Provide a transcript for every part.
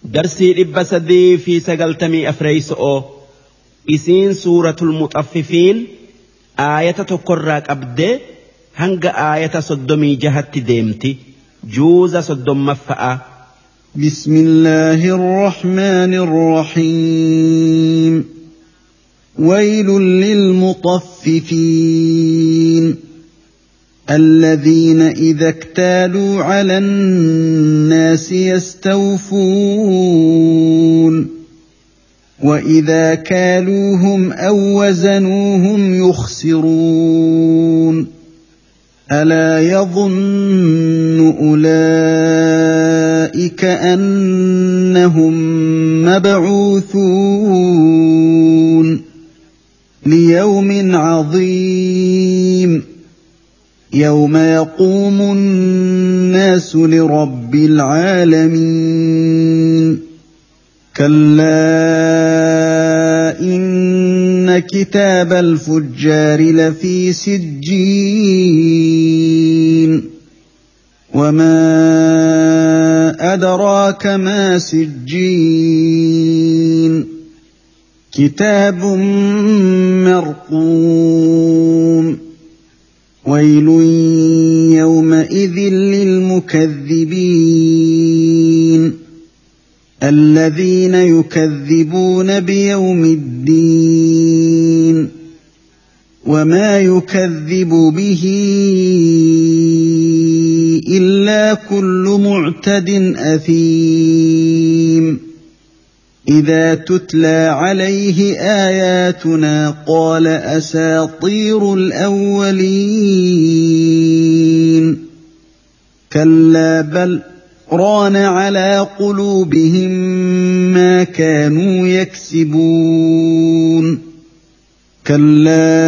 درسي إبسدي في سقلتمي أفريسؤ إسين سورة المطففين آية تقرأك أبدي هنگ آية صدمي جهت ديمتي جوز صدم مفأ. بسم الله الرحمن الرحيم. ويل للمطففين الذين إذا اكتالوا على الناس يستوفون وإذا كالوهم أو وزنوهم يخسرون ألا يظن أولئك أنهم مبعوثون ليوم عظيم يوم يقوم الناس لرب العالمين. كلا إن كتاب الفجار لفي سجين وما أدراك ما سجين كتاب مرقوم ويل يومئذ للمكذبين الذين يكذبون بيوم الدين وما يكذب به إلا كل معتد أثيم إذا تتلى عليه آياتنا قال أساطير الأولين كلا بل ران على قلوبهم ما كانوا يكسبون كلا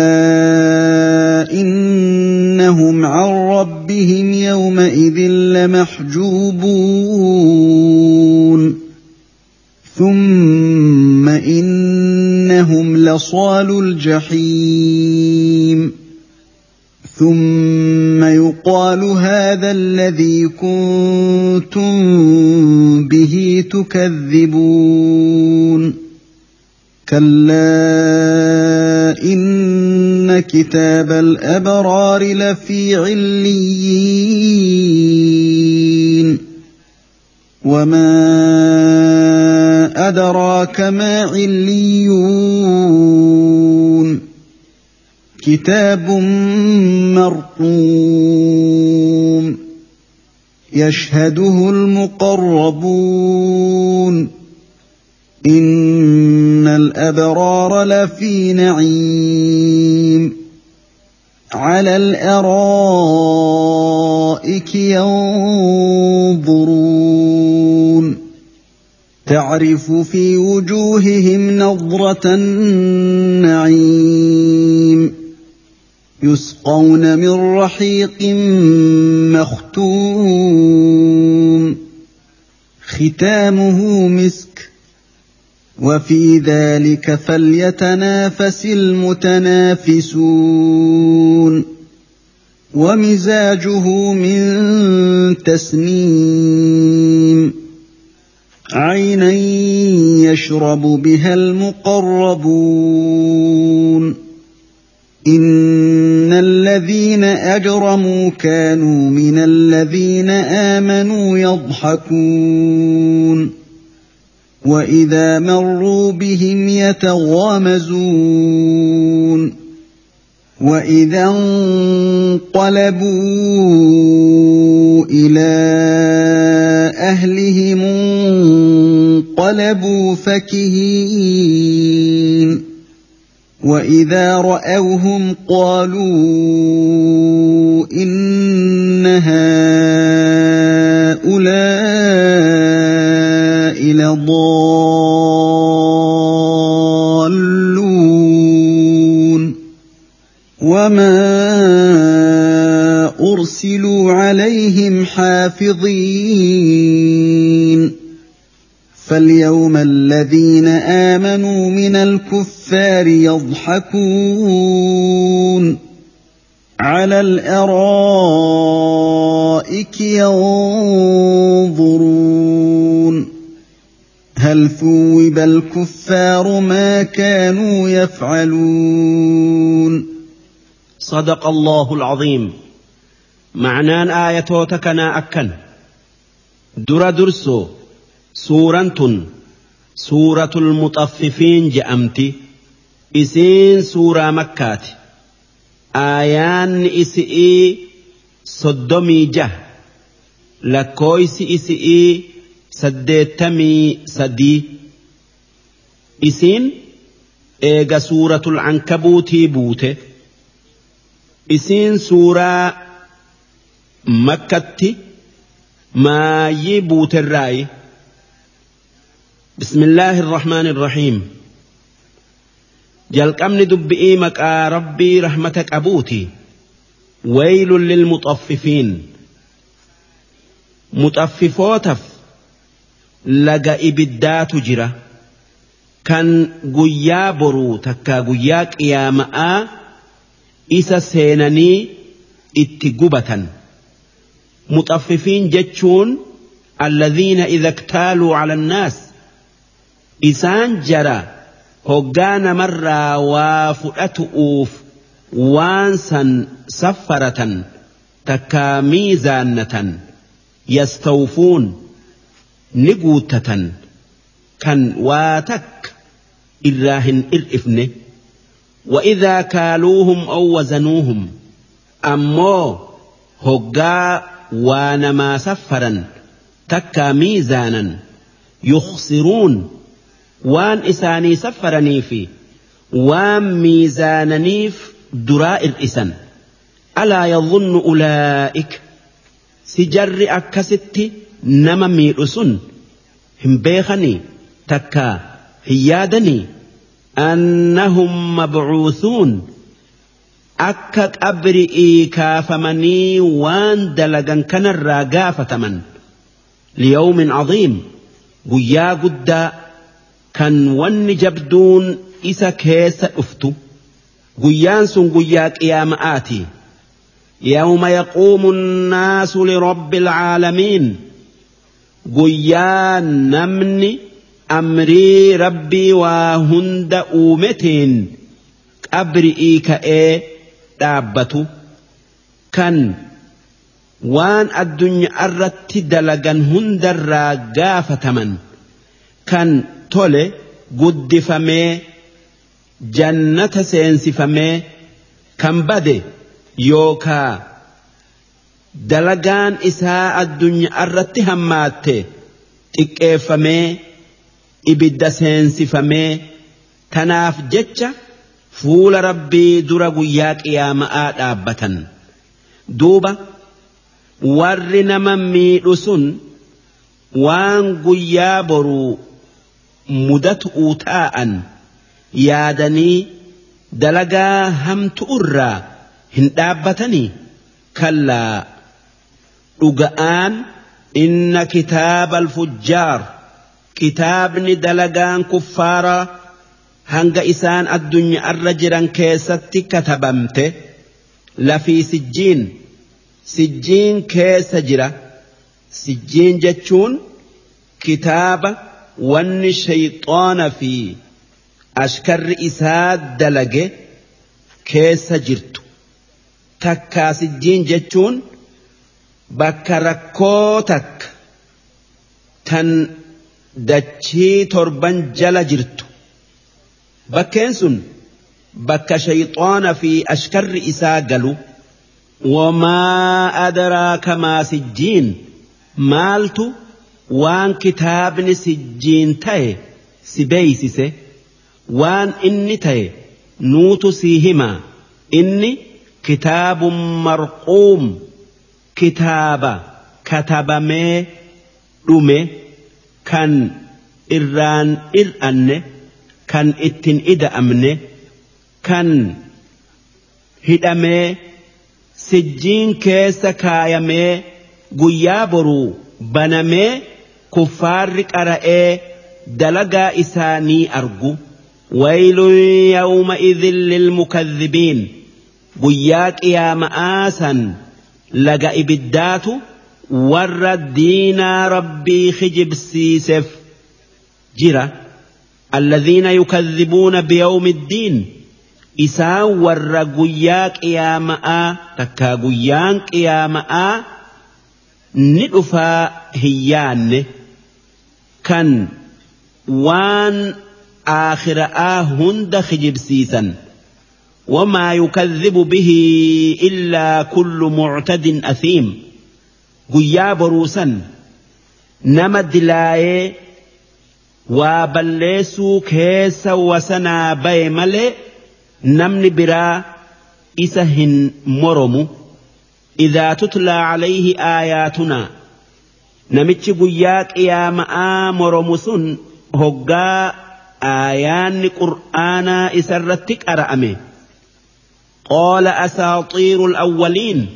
إنهم عن ربهم يومئذ لمحجوبون ثم إنهم لصالو الجحيم ثم يقال هذا الذي كنتم به تكذبون كلا إن كتاب الأبرار لفي عليين وما أدراك ما عليون كتاب مرقوم يشهده المقربون إن الأبرار لفي نعيم على الأرائك ينظرون تعرف في وجوههم نضرة النعيم يسقون من رحيق مختوم ختامه مسك وفي ذلك فليتنافس المتنافسون ومزاجه من تسنيم عينا يشرب بها المقربون إن الذين أجرموا كانوا من الذين آمنوا يضحكون وإذا مروا بهم يتغامزون وإذا انقلبوا إلى أهلهم انقلبوا فكهين وإذا رأوهم قالوا إن هؤلاء لضالون وما أرسلوا عليهم حافظين فاليوم الذين آمنوا من الكفار يضحكون على الأرائك ينظرون هل ثوب الكفار ما كانوا يفعلون صدق الله العظيم. معنان آياتوتكنا أكن درسو سورة المطففين جأمتي إسين سورة مكات آيان إسئي صدمي جه لكويس إسئي سديتمي سدي إسين إيغا سورة العنكبوتي بوته إسين سورة مكتي ما يبوت الرأي. بسم الله الرحمن الرحيم. جلق أمن دبئي مكا ربي رحمتك أبوتي. ويل للمطففين مطففوتف لقى إبدات جرة كان قيا برو تكا قياك يا ماء إسا سينني اتقبة. مطففين جتشون الذين إذا اكتالوا على الناس إسان جرى هقان مرة وفؤتؤوف وانسا سفرة تكا ميزانة يستوفون نقوتة كان واتك إراهن إرئفن وإذا كالوهم أو وزنوهم أمو هقا وانما سفرا تكا ميزانا يخسرون وان إساني سفرني في وان ميزاننيف درائر إسان. ألا يظن أولئك سجر أكست نما ميرسون هم بيخني تكا هيادني أنهم مبعوثون أكك أبرئي كافمني وان دلقا كان الراقافة من ليوم عظيم قيا قد كان ون جبدون إسا كيس أفتو قيان سن قياك يا مآتي يوم يقوم الناس لرب العالمين قيان نمني أمري ربي وهند أومتين أبرئي كأي دابتو كان وان الدنيا أردت دلقا هند الراقافة من كان تولي قد فمي جنة سينسي فمي كان بدي يوكا دلقان إساء الدنيا أردت هماتي إكيفمي إبدا سينسي فمي تناف جتشا فول ربي درا قياك يا مآت آبتا دوبا ورنا ممي رسن وان قيا برو مدت أوتاء يادني دلقا هم تؤرى هندابتني كلا رقآن إن كتاب الفجار كتابني دلقان كفارا هنگ إسان الدنيا الرجران كيستي كتبمته لفي سجين كيس جرا سجين جتشون كتاب وان شيطان في أشكر إساد دلقه كيس جرتو تكا سجين جتشون بكركوتك تن دچي تربان جل جرتو بكينسون بك شيطان في أشكر إساقلو وما أدراك ما سجين مالتو وان كتابني سجين تاي سبيسيسي وان إني تاي نوتو سيهما إني كتاب مرقوم كتابا كتبمي رمي كان إران إرأني كان اتن إدا أمني كان هدامي سجين كيسا كايامي قيابرو بنامي كفارك أرأي دلقا إساني أرجو ويل يومئذ للمكذبين قياك يا مآسا لقا إبدات ورد دينا ربي خجب سيسف جرا الذين يكذبون بيوم الدين إسان ورقياك يا ماء تكاقيانك يا ماء ندفا هيان كان وان آخر هند خجب سيسا وما يكذب به إلا كل معتد أثيم قيا بروسا نمد لاي وبلسوا كيس وسنا بيملئ نمن برا إسهن مرمو إذا تتلى عليه آياتنا نمتش قياك يا ماء مرمسون هقا آيان قرآنا إسرتك أرأمي قال أساطير الأولين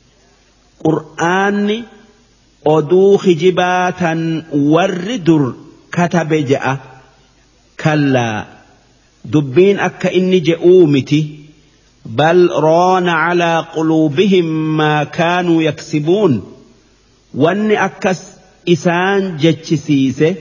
قرآن أدوخ جباتا وردر كتب جاء كلا دبين أكا إني جئومتي بل ران على قلوبهم ما كانوا يكسبون واني أكس إسان جتشسيسه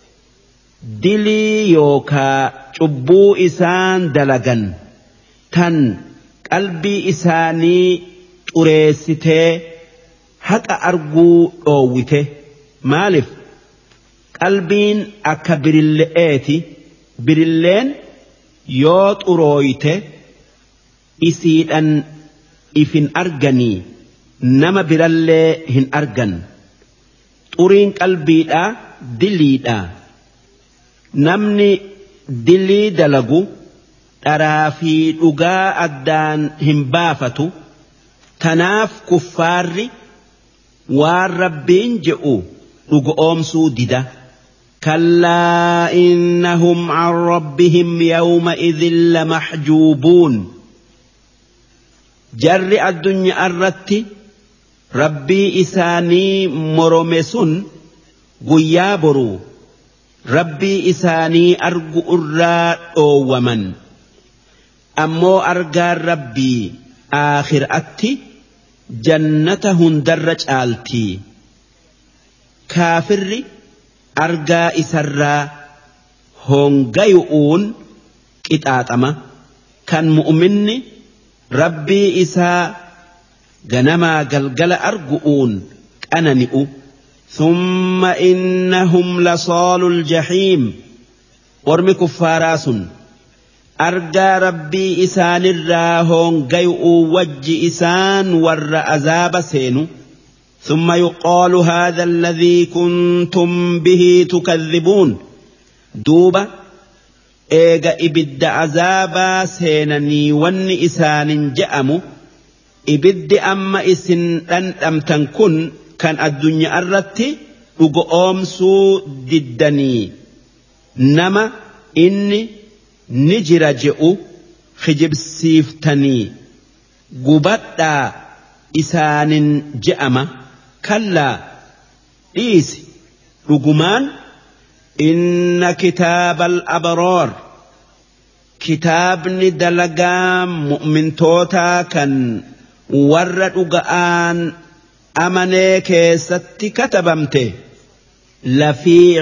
دلي يوكا شبو إسان دلغن تن قلبي إساني تريسته حتى أرجو أوته مالف قلبين أكا برلئاتي برلين يوت أرويته إسيدان إفن أرغني نما برالي هن أرغن تورين قلبي دا دلي دا نمني دلي دلغو ترافي لغا أدان هم بافتو تناف كفاري والربين جئو لغا أمسو ددا كلا إنهم عن ربهم يومئذ لمحجوبون جر الدنيا الرتي ربي إساني مرمسون غيابرو ربي إساني أرجو الراء ومن أمو أرجى ربي آخر أتي جنتهن درج آلتي كافر أرجى إسرا هنجيؤون كتاتما كان مؤمني ربي إسا جنما جلجل أرجؤون أننئ ثم إنهم لصال الجحيم ورم كفاراس أرجى ربي إسان الراهون جيؤ وج إسان ور أزاب سينو ثم يقال هذا الذي كنتم به تكذبون دوبا إيجا إبد عذابا سينني ون إسان جأمو إبد أما إسن أم تنكن كان الدنيا الرتي أمسو ددني نما إني نجر جئو خجب سيفتني قبطا إسان جأما كلا إيسي رقمان إن كتاب الأبرار كتابني دلقام مؤمن توتا كان ورد أغآن أمني كيستي كتبمته لفي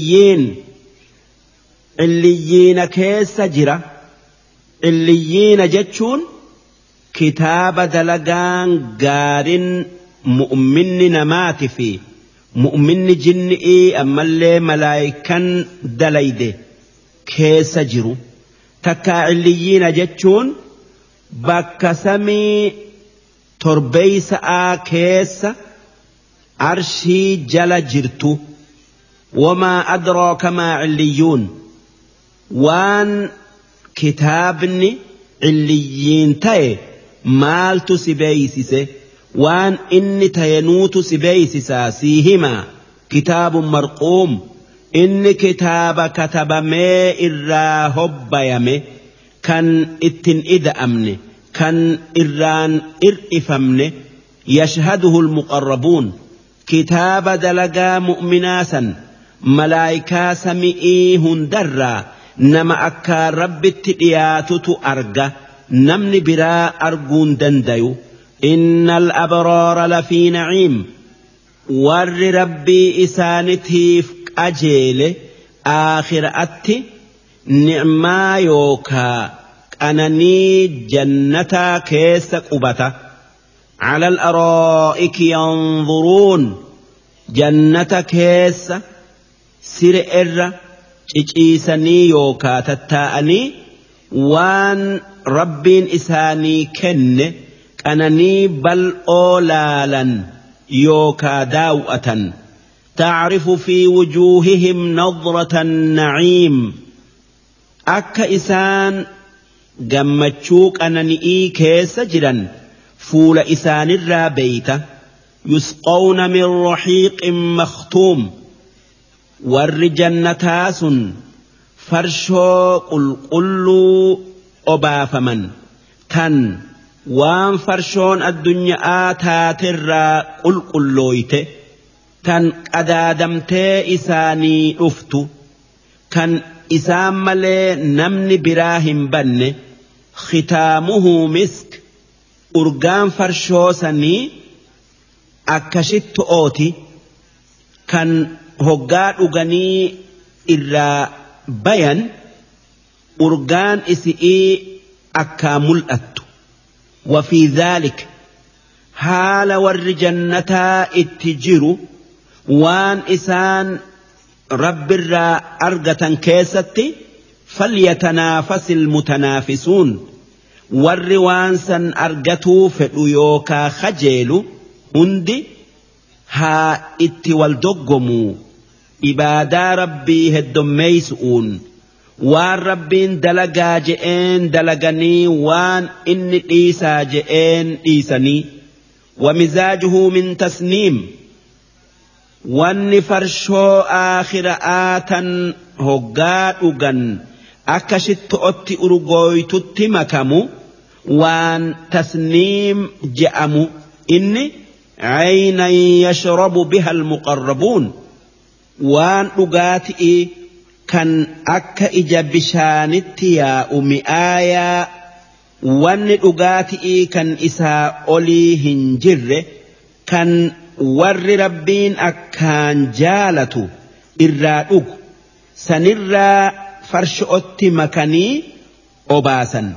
عليين كيس جرا عليين جتشون كتاب دلقان قارن مؤمن نمات في مؤمن جنئي أما اللي ملايكا دليده كيس جرو تكا عليين جتشون بك سمي تربيس كيس عرشي جل جرتو وما أدراك ما عليون وان كتابني عليين تاي مالتو سبيسيسي وان إني تينوتو سبيسيسا سيهما كتاب مرقوم إني كتاب كتب مي إرا هبيمي كان اتن إذا أمني كان إران إرئفمني يشهده المقربون كتاب دلقا مؤمناسا ملايكا سمئيهن درا نما أكا رب التقياتو أرقى نمني برا أرقون دنديو إن الأبرار لفي نعيم ور ربي إسانتيف أجيل آخرأتي نعما يوكا أنني جنتا كيس قبتا على الأرائك ينظرون جنة كيس سرئر إجيسني يوكا تتاءني وان ربين إساني كن أنني بل أولالا يوكا داوءة تعرف في وجوههم نظرة النعيم أكا إسان جمتشوك أنني كيس جدا فول إسان الرابيت يسقون من رحيق مختوم والرجنتاس فرشو قلقلو أبافمن تن وان فرشون الدنيا تاتر قلقلويت تن أدادمت إساني أفتو كان إسام ملي نمني براهم بن ختامه مسك أرقام فرشو سني أكشت أوتي كان هقاد أغني إلا بيان أرقان إسئي أكامل أتو وفي ذلك حال والرجنة اتجروا وان إسان رب الرا أرقة كيستي فليتنافس المتنافسون والروانسا أرقتوا فليوكا خجيلوا هندي ها اتي والدقموا إبادا ربي هدميسؤون وان ربين دلقا جئين دلقني وان إن إيسا جئين إيساني ومزاجه من تسنيم وان فرشو آخر آتا هقاد أغن أكشت أتي أرغويت تمكمو وان تسنيم جأمو إني عينا يشرب بها المقربون وان أغاتئي كان أكا إجابشانتي يا أمي آيا وان أغاتئي كان إساء أولي هنجر كان ور ربين أكان جالتو إرادوك سنرى فرشؤتي مكاني أباسا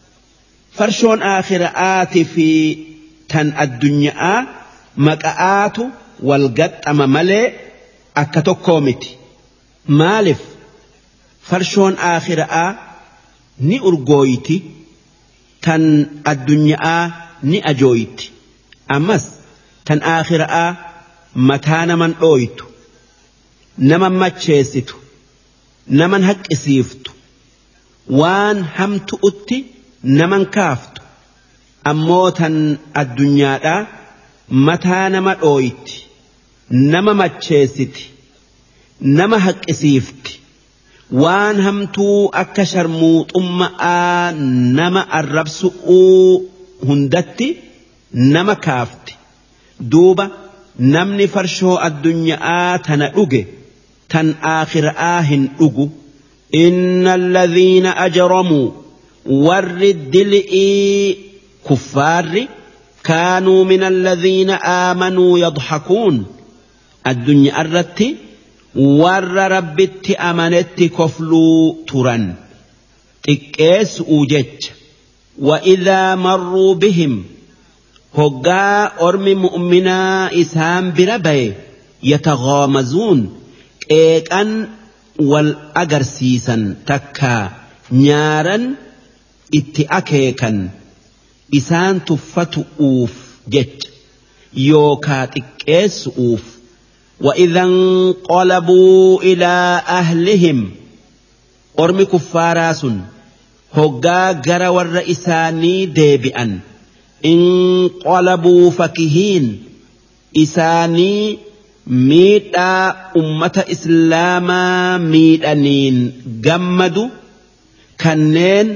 فرشون آخر آتي في تن الدنيا مكآت والقد أما ملئ أكتو كوميتي مالف فرشون آخر ني أرغويتي تن الدنيا ني أجويتي أمس تن آخر متانا من أويتو نمن ماتشيستو نمن هك إسيفتو وان همتو أتي نمن كافتو أموتا الدنيا متانا من أويتي نما ماتشيستي نما هك إسيفتي وان همتو أكشر موت نما الربسؤو هندتي نما كافتي دوبا نمني فرشو الدنيا تنأوغي تن آخر آهن أوغو إن الذين أجرموا ورد لئي كفار كانوا من الذين آمنوا يضحكون الدنيا الرتي ور ربت أمنت كفلو تران تكيس أوجج وإذا مروا بهم هقا أرمي مؤمنا إسهام بربي يتغامزون إيكان والأقرسيسا تكا نيارا اتأكيكا إسان تفتؤوف جج يوكا تكيس أوف وإذا انقلبوا إلى أهلهم أرمي كفاراس هقا قرى والرئيساني ديبئا انقلبوا فكهين إساني ميتا أمة إسلاما ميتانين جمدوا كنين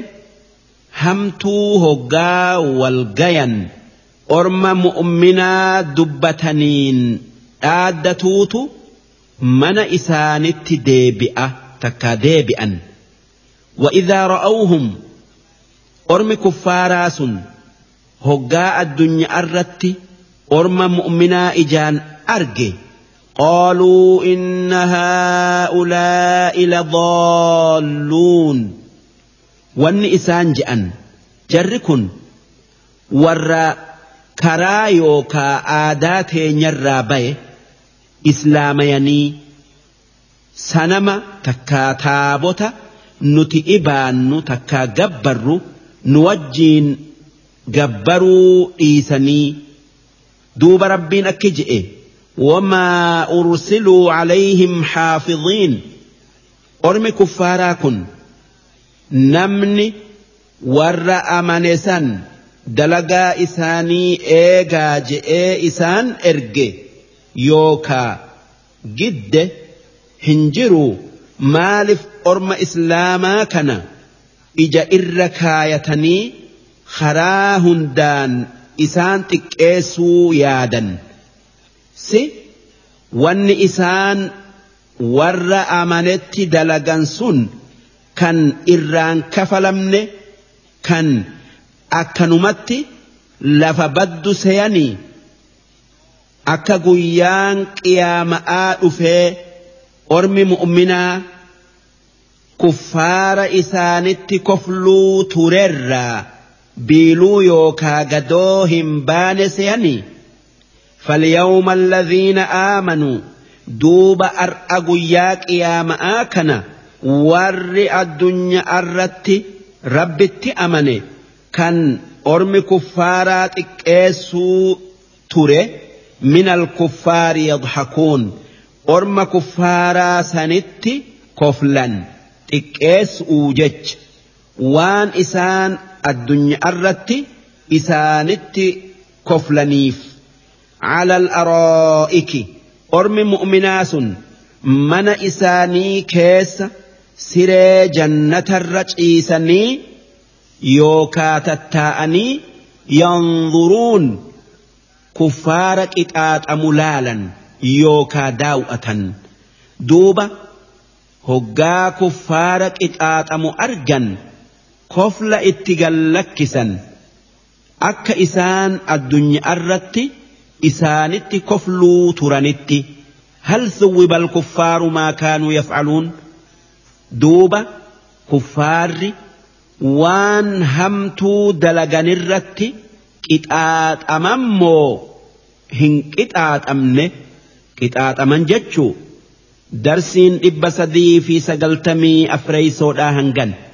همتو هقا والقيان أرمى مؤمنا دبتنين آدتوتو من إسانت ديبئة تكا ديبئا وإذا رأوهم أرمي كفاراس هقا الدنيا الرتي أرمى مؤمنا إجان أرجي قالوا إن هؤلاء لضالون وان إسان جأن جركن ور كرايوكا آدات نرابي إسلاميني سنما تكا تابوتا نتي إبان تكا جبرو نوجين جبروا إيساني دوب ربين أكجئ وما أرسلوا عليهم حافظين أرمي كفاراكن نمني ور أمانسان دلقا إساني إيغا جئ إسان إرجي يوكا جد هنجروا مالف أرم إسلاما كان إجا إركايتني خراهندان إسان تكيسو يادا سي وان إسان ور أمانت دلقان سن كان إران كفلمن كان أكنمت لفبد سياني أكا قيان قياماء في أرمي مؤمنا كفار إسانت كفلو ترر بيلو يوكا قدوهم بان سياني فاليوم الذين آمنوا دوب أرأقياك يا مآكنا ور الدنيا أردت ربت أمني كان أرمي كفارات إكيسو تري من الكفار يضحكون أرمي كفارا سنت كفلا إكيس أوجج وان إسان الدنيا أردت إسانت كفلنيف على الأرائك أرمي مؤمناس من إساني كيس سري جنة الرجيسني يوكا تتاءني ينظرون كفارك إتآت أملالا يوكا داوءة دوبة هقا كفارك إتآت أمؤرجا كفل اتقلكسا أكا إسان الدنيا الرتي إسانت كفلو ترانت هل ثوب الكفار ما كانوا يفعلون دوبة كفار وان همتو دلغن الرت كتات أمامو هن كتات أمنه كتات أمن جتشو درسين إبسدي في سقلتمي أفريسو داهنغن